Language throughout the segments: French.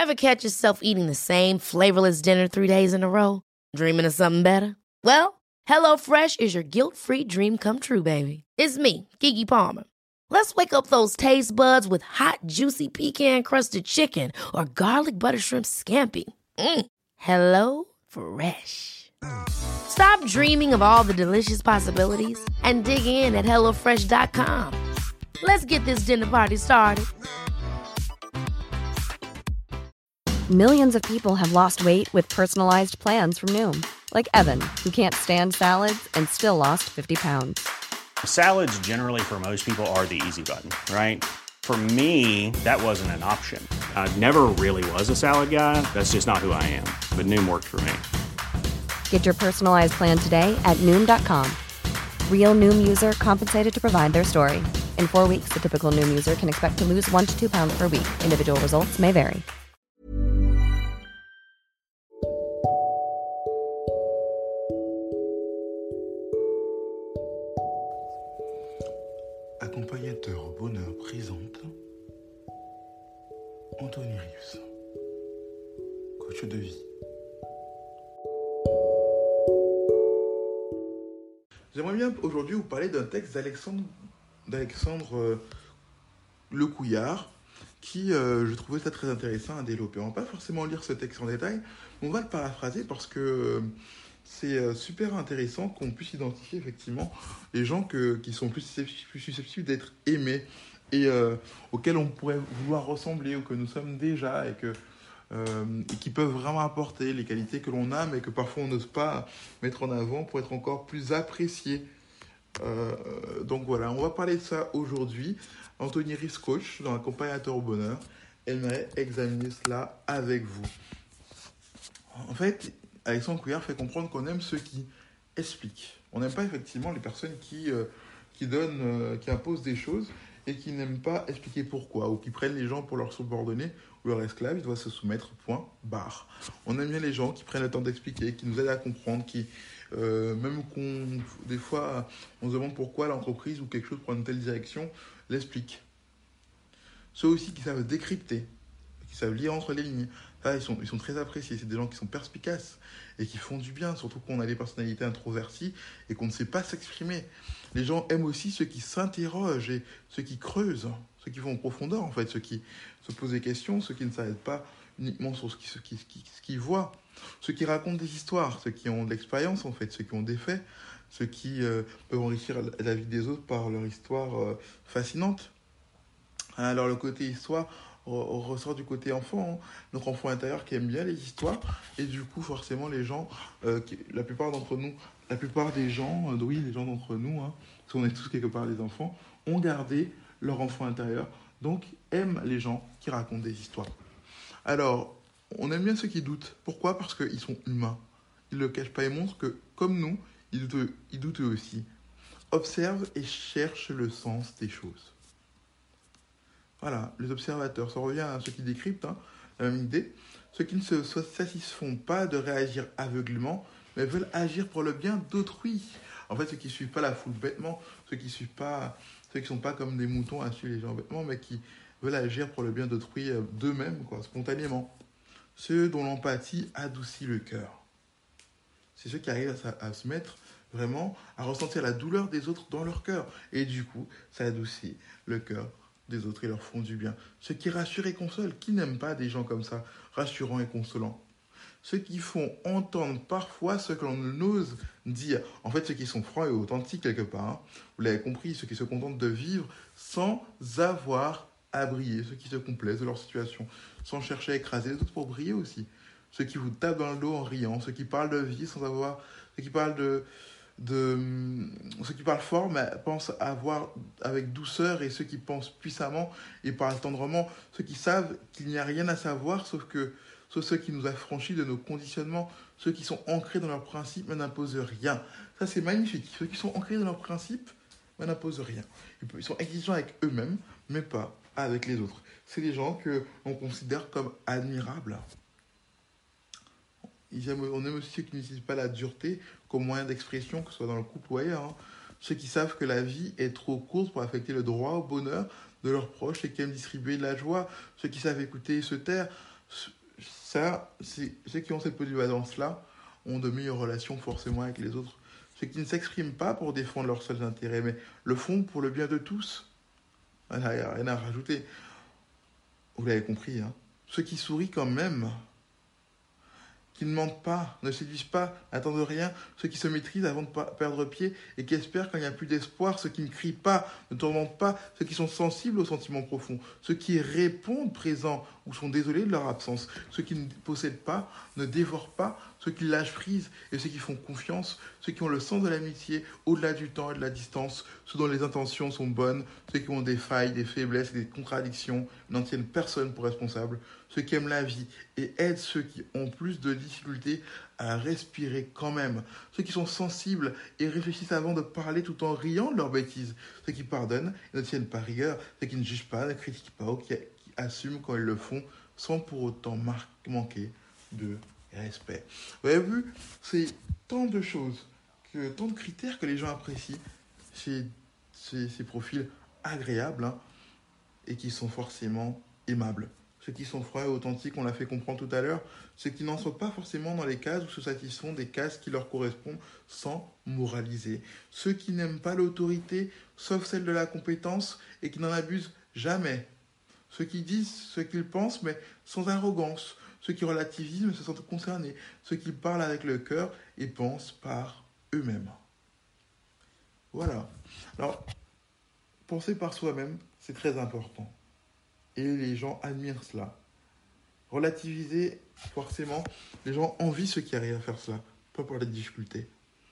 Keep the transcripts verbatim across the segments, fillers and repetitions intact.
Ever catch yourself eating the same flavorless dinner three days in a row? Dreaming of something better? Well, HelloFresh is your guilt-free dream come true, baby. It's me, Keke Palmer. Let's wake up those taste buds with hot, juicy pecan-crusted chicken or garlic butter shrimp scampi. Mm. Hello Fresh. Stop dreaming of all the delicious possibilities and dig in at hello fresh dot com. Let's get this dinner party started. Millions of people have lost weight with personalized plans from Noom. Like Evan, who can't stand salads and still lost fifty pounds. Salads generally for most people are the easy button, right? For me, that wasn't an option. I never really was a salad guy. That's just not who I am. But Noom worked for me. Get your personalized plan today at Noom dot com. Real Noom user compensated to provide their story. In four weeks, the typical Noom user can expect to lose one to two pounds per week. Individual results may vary. Accompagnateur Bonheur présente Anthony Rius, coach de vie. J'aimerais bien aujourd'hui vous parler d'un texte d'Alexandre, d'Alexandre euh, Lecouillard qui, euh, je trouvais ça très intéressant à développer. On ne va pas forcément lire ce texte en détail, mais on va le paraphraser parce que euh, c'est euh, super intéressant qu'on puisse identifier effectivement les gens que, qui sont plus susceptibles, plus susceptibles d'être aimés et euh, auxquels on pourrait vouloir ressembler ou que nous sommes déjà et, que, euh, et qui peuvent vraiment apporter les qualités que l'on a mais que parfois on n'ose pas mettre en avant pour être encore plus apprécié. Euh, donc voilà, on va parler de ça aujourd'hui. Anthony Rius, coach dans Accompagnateur au bonheur, aimerait examiner cela avec vous. En fait, Alexandre Couillard fait comprendre qu'on aime ceux qui expliquent. On n'aime pas effectivement les personnes qui, euh, qui donnent, euh, qui imposent des choses et qui n'aiment pas expliquer pourquoi, ou qui prennent les gens pour leurs subordonnés ou leurs esclaves, ils doivent se soumettre, point, barre. On aime bien les gens qui prennent le temps d'expliquer, qui nous aident à comprendre, qui, euh, même qu'on, des fois, on se demande pourquoi l'entreprise ou quelque chose prend une telle direction, l'explique. Ceux aussi qui savent décrypter, qui savent lire entre les lignes, là, ils sont, ils sont très appréciés. C'est des gens qui sont perspicaces et qui font du bien, surtout qu'on a des personnalités introverties et qu'on ne sait pas s'exprimer. Les gens aiment aussi ceux qui s'interrogent et ceux qui creusent, ceux qui vont en profondeur, en fait, ceux qui se posent des questions, ceux qui ne s'arrêtent pas uniquement sur ce qu'ils ce qui, ce qui, ce qui voient, ceux qui racontent des histoires, ceux qui ont de l'expérience, en fait, ceux qui ont des faits, ceux qui euh, peuvent enrichir la vie des autres par leur histoire euh, fascinante. Alors, le côté histoire ressort du côté enfant, hein. Notre enfant intérieur qui aime bien les histoires, et du coup forcément les gens, euh, qui, la plupart d'entre nous, la plupart des gens, euh, oui les gens d'entre nous, hein, parce qu'on est tous quelque part des enfants, ont gardé leur enfant intérieur, donc aiment les gens qui racontent des histoires. Alors, on aime bien ceux qui doutent. Pourquoi ? Parce qu'ils sont humains. Ils ne le cachent pas et montrent que, comme nous, ils doutent, ils doutent eux aussi. Observent et cherchent le sens des choses. Voilà, les observateurs, ça revient à ceux qui décryptent, hein, la même idée. Ceux qui ne se satisfont pas de réagir aveuglément, mais veulent agir pour le bien d'autrui. En fait, ceux qui ne suivent pas la foule bêtement, ceux qui suivent pas, ceux qui ne sont pas comme des moutons à suivre les gens bêtement, mais qui veulent agir pour le bien d'autrui euh, d'eux-mêmes, quoi, spontanément. Ceux dont l'empathie adoucit le cœur. C'est ceux qui arrivent à, à se mettre vraiment, à ressentir la douleur des autres dans leur cœur. Et du coup, ça adoucit le cœur des autres et leur font du bien. Ceux qui rassurent et consolent, qui n'aiment pas des gens comme ça, rassurants et consolants. Ceux qui font entendre parfois ce que l'on n'ose dire. En fait, ceux qui sont francs et authentiques quelque part. Hein. Vous l'avez compris, ceux qui se contentent de vivre sans avoir à briller. Ceux qui se complaisent de leur situation, sans chercher à écraser les autres pour briller aussi. Ceux qui vous tapent dans le dos en riant. Ceux qui parlent de vie sans avoir... Ceux qui parlent de... De, ceux qui parlent fort mais pensent avoir avec douceur, et ceux qui pensent puissamment et parlent tendrement, ceux qui savent qu'il n'y a rien à savoir sauf que sauf ceux qui nous affranchissent de nos conditionnements, ceux qui sont ancrés dans leurs principes mais n'imposent rien. Ça c'est magnifique. Ceux qui sont ancrés dans leurs principes mais n'imposent rien. Ils sont exigeants avec eux-mêmes mais pas avec les autres. C'est des gens que l'on considère comme admirables. On aime aussi ceux qui n'utilisent pas la dureté comme moyen d'expression, que ce soit dans le couple ou ailleurs. Hein. Ceux qui savent que la vie est trop courte pour affecter le droit au bonheur de leurs proches et qui aiment distribuer de la joie. Ceux qui savent écouter et se taire. Ça, c'est, ceux qui ont cette polyvalence-là ont de meilleures relations forcément avec les autres. Ceux qui ne s'expriment pas pour défendre leurs seuls intérêts, mais le font pour le bien de tous. Il n'y a rien à rajouter. Vous l'avez compris, hein. Ceux qui sourient quand même, qui ne mentent pas, ne séduisent pas, n'attendent rien, ceux qui se maîtrisent avant de perdre pied et qui espèrent quand il n'y a plus d'espoir, ceux qui ne crient pas, ne tourmentent pas, ceux qui sont sensibles aux sentiments profonds, ceux qui répondent présents ou sont désolés de leur absence, ceux qui ne possèdent pas, ne dévorent pas, ceux qui lâchent prise et ceux qui font confiance, ceux qui ont le sens de l'amitié au-delà du temps et de la distance, ceux dont les intentions sont bonnes, ceux qui ont des failles, des faiblesses et des contradictions, n'en tiennent personne pour responsable, ceux qui aiment la vie et aident ceux qui ont plus de difficultés à respirer quand même, ceux qui sont sensibles et réfléchissent avant de parler tout en riant de leurs bêtises, ceux qui pardonnent et ne tiennent pas rigueur, ceux qui ne jugent pas, ne critiquent pas ou qui, qui assument quand ils le font sans pour autant mar- manquer de respect. Vous avez vu, c'est tant de choses, que, tant de critères que les gens apprécient chez ces, ces profils agréables, hein, et qui sont forcément aimables. Ceux qui sont froids et authentiques, on l'a fait comprendre tout à l'heure, ceux qui n'en sont pas forcément dans les cases ou se satisfont des cases qui leur correspondent sans moraliser. Ceux qui n'aiment pas l'autorité, sauf celle de la compétence, et qui n'en abusent jamais. Ceux qui disent ce qu'ils pensent, mais sans arrogance. Ceux qui relativisent, mais se sentent concernés. Ceux qui parlent avec le cœur et pensent par eux-mêmes. Voilà. Alors, penser par soi-même, c'est très important. Et les gens admirent cela. Relativiser, forcément, les gens envient ceux qui arrivent à faire cela, pas pour les difficultés.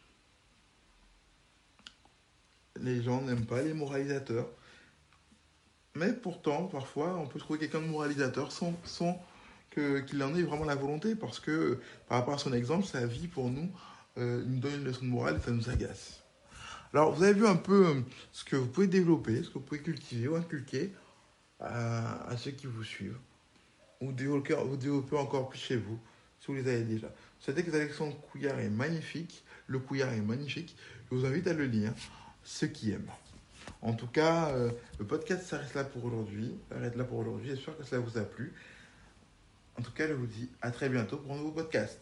Les gens n'aiment pas les moralisateurs. Mais pourtant, parfois, on peut trouver quelqu'un de moralisateur sans, sans que, qu'il en ait vraiment la volonté, parce que, par rapport à son exemple, sa vie, pour nous, euh, nous donne une leçon de morale et ça nous agace. Alors, vous avez vu un peu euh, ce que vous pouvez développer, ce que vous pouvez cultiver ou inculquer à, à ceux qui vous suivent, ou développer, vous développer encore plus chez vous, si vous les avez déjà. Ce texte d'Alexandre Couillard est magnifique, le Couillard est magnifique, je vous invite à le lire, ceux qui aiment. En tout cas, euh, le podcast s'arrête là pour aujourd'hui, s'arrête là pour aujourd'hui, j'espère que cela vous a plu. En tout cas, je vous dis à très bientôt pour un nouveau podcast.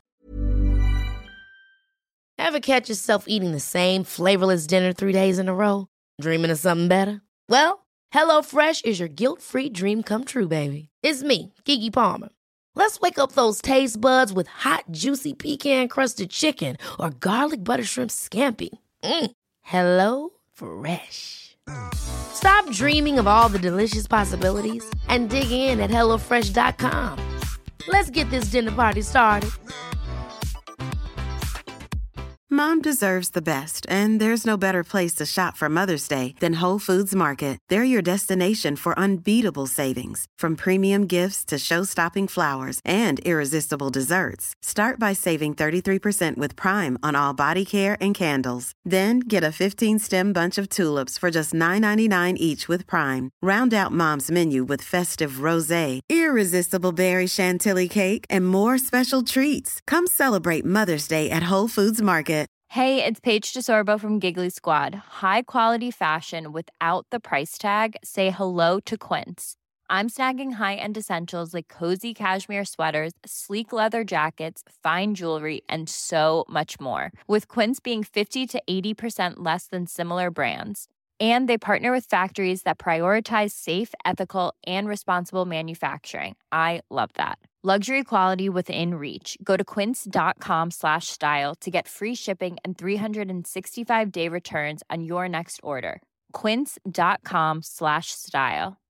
Ever catch yourself eating the same flavorless dinner three days in a row? Dreaming of something better? Well, HelloFresh is your guilt-free dream come true, baby. It's me, Keke Palmer. Let's wake up those taste buds with hot, juicy pecan-crusted chicken or garlic butter shrimp scampi. Mm. Hello Fresh. Stop dreaming of all the delicious possibilities and dig in at hello fresh dot com. Let's get this dinner party started. Mom deserves the best, and there's no better place to shop for Mother's Day than Whole Foods Market. They're your destination for unbeatable savings, from premium gifts to show-stopping flowers and irresistible desserts. Start by saving thirty-three percent with Prime on all body care and candles. Then get a fifteen-stem bunch of tulips for just nine ninety-nine each with Prime. Round out Mom's menu with festive rosé, irresistible berry chantilly cake, and more special treats. Come celebrate Mother's Day at Whole Foods Market. Hey, it's Paige DeSorbo from Giggly Squad. High quality fashion without the price tag. Say hello to Quince. I'm snagging high-end essentials like cozy cashmere sweaters, sleek leather jackets, fine jewelry, and so much more. With Quince being fifty to eighty percent less than similar brands. And they partner with factories that prioritize safe, ethical, and responsible manufacturing. I love that. Luxury quality within reach. Go to quince.com slash style to get free shipping and three sixty-five day returns on your next order. Quince.com slash style.